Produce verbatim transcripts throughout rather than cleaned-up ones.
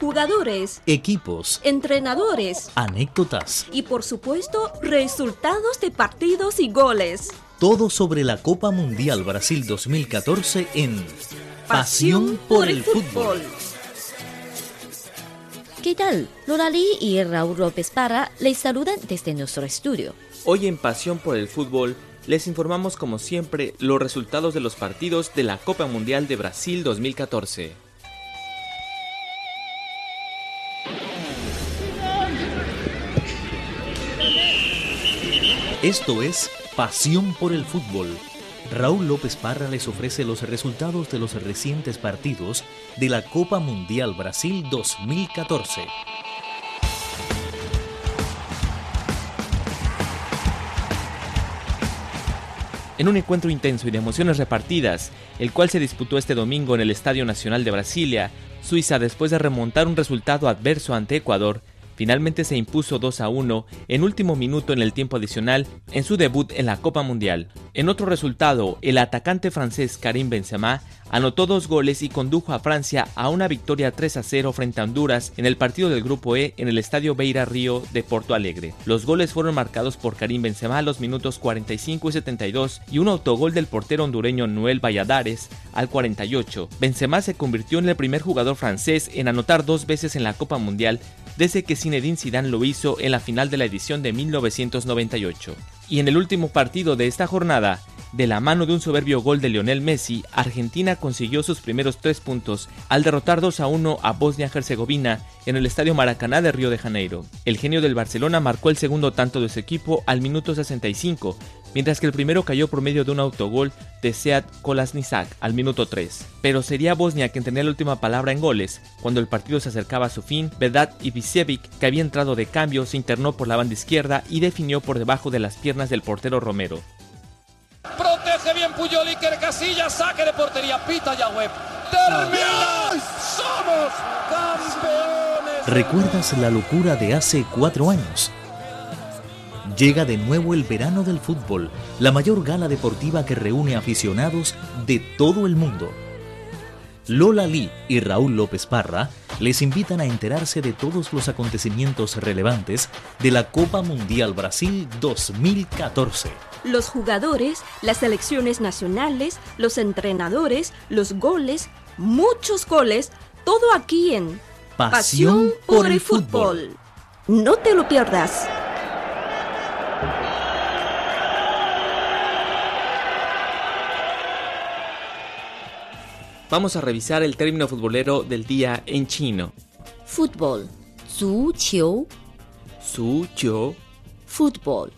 jugadores, equipos, entrenadores anécdotas y por supuesto resultados de partidos y goles. Todo sobre la Copa Mundial Brasil dos mil catorce en Pasión por el Fútbol. ¿Qué tal? Lola Lee y Raúl López Parra les saludan desde nuestro estudio. Hoy en Pasión por el Fútbol les informamos como siempre los resultados de los partidos de la Copa Mundial de Brasil dos mil catorce. Esto es Pasión por el Fútbol. Raúl López Parra les ofrece los resultados de los recientes partidos de la Copa Mundial Brasil dos mil catorce. En un encuentro intenso y de emociones repartidas, el cual se disputó este domingo en el Estadio Nacional de Brasilia, Suiza, después de remontar un resultado adverso ante Ecuador, finalmente se impuso dos a uno en último minuto en el tiempo adicional en su debut en la Copa Mundial. En otro resultado, el atacante francés Karim Benzema anotó dos goles y condujo a Francia a una victoria tres a cero frente a Honduras en el partido del Grupo E en el Estadio Beira Río de Porto Alegre. Los goles fueron marcados por Karim Benzema a los minutos cuarenta y cinco y setenta y dos y un autogol del portero hondureño Noel Valladares al cuarenta y ocho. Benzema se convirtió en el primer jugador francés en anotar dos veces en la Copa Mundial desde que Zinedine Zidane lo hizo en la final de la edición de mil novecientos noventa y ocho. Y en el último partido de esta jornada, de la mano de un soberbio gol de Lionel Messi, Argentina consiguió sus primeros tres puntos al derrotar dos a uno a Bosnia-Herzegovina en el Estadio Maracaná de Río de Janeiro. El genio del Barcelona marcó el segundo tanto de su equipo al minuto sesenta y cinco, mientras que el primero cayó por medio de un autogol de Sead Kolasinac al minuto tres. Pero sería Bosnia quien tenía la última palabra en goles. Cuando el partido se acercaba a su fin, Vedat Ibišević, que había entrado de cambio, se internó por la banda izquierda y definió por debajo de las piernas del portero Romero. Protege bien Puyol, Iker Casillas, saque de portería, pita Yagüe. ¡Termina! ¡Somos campeones! ¿Recuerdas la locura de hace cuatro años? Llega de nuevo el verano del fútbol, la mayor gala deportiva que reúne aficionados de todo el mundo. Lola Lee y Raúl López Parra les invitan a enterarse de todos los acontecimientos relevantes de la Copa Mundial Brasil dos mil catorce. Los jugadores, las selecciones nacionales, los entrenadores, los goles, muchos goles, todo aquí en Pasión por el Fútbol. No te lo pierdas. Vamos a revisar el término futbolero del día en chino. Fútbol, 足球, 足球, fútbol.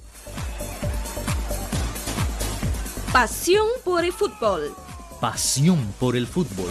Pasión por el fútbol. Pasión por el fútbol.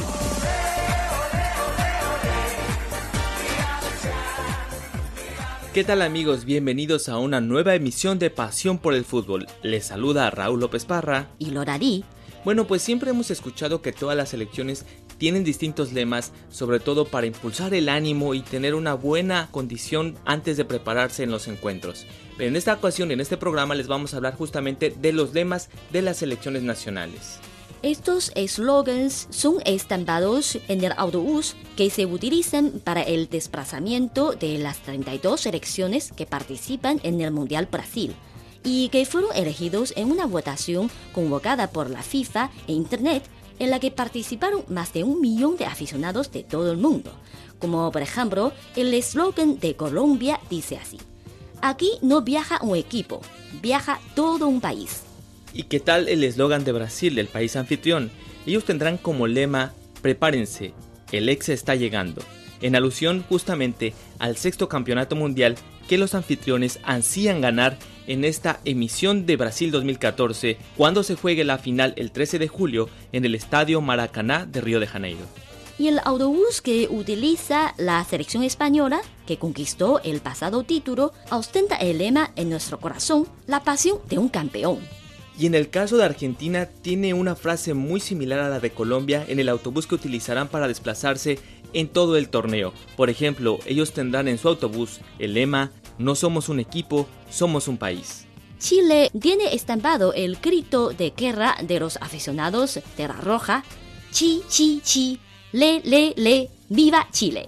¿Qué tal amigos? Bienvenidos a una nueva emisión de Pasión por el Fútbol. Les saluda Raúl López Parra y Lola Lee. Bueno, pues siempre hemos escuchado que todas las selecciones tienen distintos lemas, sobre todo para impulsar el ánimo y tener una buena condición antes de prepararse en los encuentros. Pero en esta ocasión, en este programa, les vamos a hablar justamente de los lemas de las selecciones nacionales. Estos eslogans son estampados en el autobús que se utilizan para el desplazamiento de las treinta y dos selecciones que participan en el Mundial Brasil y que fueron elegidos en una votación convocada por la FIFA e Internet en la que participaron más de un millón de aficionados de todo el mundo. Como por ejemplo, el eslogan de Colombia dice así: aquí no viaja un equipo, viaja todo un país. ¿Y qué tal el eslogan de Brasil, del país anfitrión? Ellos tendrán como lema: prepárense, el Hexa está llegando, en alusión justamente al sexto campeonato mundial que los anfitriones ansían ganar en esta emisión de Brasil dos mil catorce, cuando se juegue la final el trece de julio en el Estadio Maracaná de Río de Janeiro. Y el autobús que utiliza la selección española, que conquistó el pasado título, ostenta el lema en nuestro corazón: la pasión de un campeón. Y en el caso de Argentina tiene una frase muy similar a la de Colombia en el autobús que utilizarán para desplazarse en todo el torneo. Por ejemplo, ellos tendrán en su autobús el lema: no somos un equipo, somos un país. Chile tiene estampado el grito de guerra de los aficionados de la Roja: chi, chi, chi, le, le, le, viva Chile.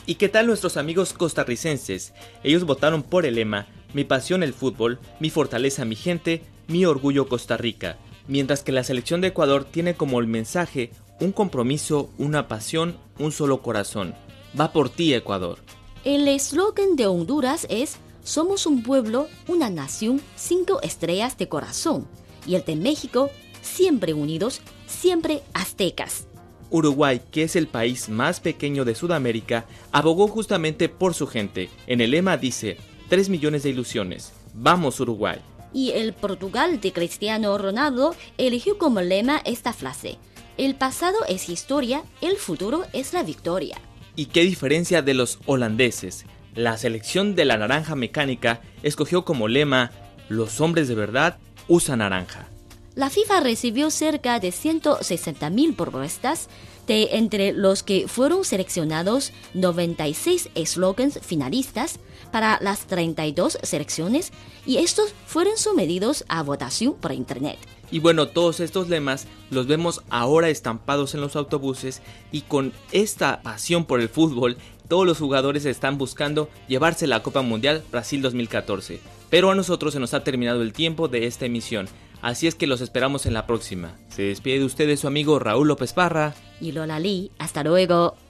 ¿Y qué tal nuestros amigos costarricenses? Ellos votaron por el lema Mi pasión el fútbol, mi fortaleza mi gente, mi orgullo Costa Rica, mientras que la selección de Ecuador tiene como el mensaje un compromiso, una pasión, un solo corazón. Va por ti, Ecuador. El eslogan de Honduras es Somos un pueblo, una nación, cinco estrellas de corazón. Y el de México, siempre unidos, siempre aztecas. Uruguay, que es el país más pequeño de Sudamérica, abogó justamente por su gente. En el lema dice, tres millones de ilusiones. ¡Vamos, Uruguay! Y el Portugal de Cristiano Ronaldo eligió como lema esta frase. El pasado es historia, el futuro es la victoria. ¿Y qué diferencia de los holandeses? La selección de la naranja mecánica escogió como lema, los hombres de verdad usan naranja. La FIFA recibió cerca de ciento sesenta mil propuestas, de entre los que fueron seleccionados noventa y seis eslogans finalistas para las treinta y dos selecciones, y estos fueron sometidos a votación por internet. Y bueno, todos estos lemas los vemos ahora estampados en los autobuses, y con esta pasión por el fútbol, todos los jugadores están buscando llevarse la Copa Mundial Brasil dos mil catorce. Pero a nosotros se nos ha terminado el tiempo de esta emisión, así es que los esperamos en la próxima. Se despide de ustedes su amigo Raúl López Parra y Lola Lee. Hasta luego.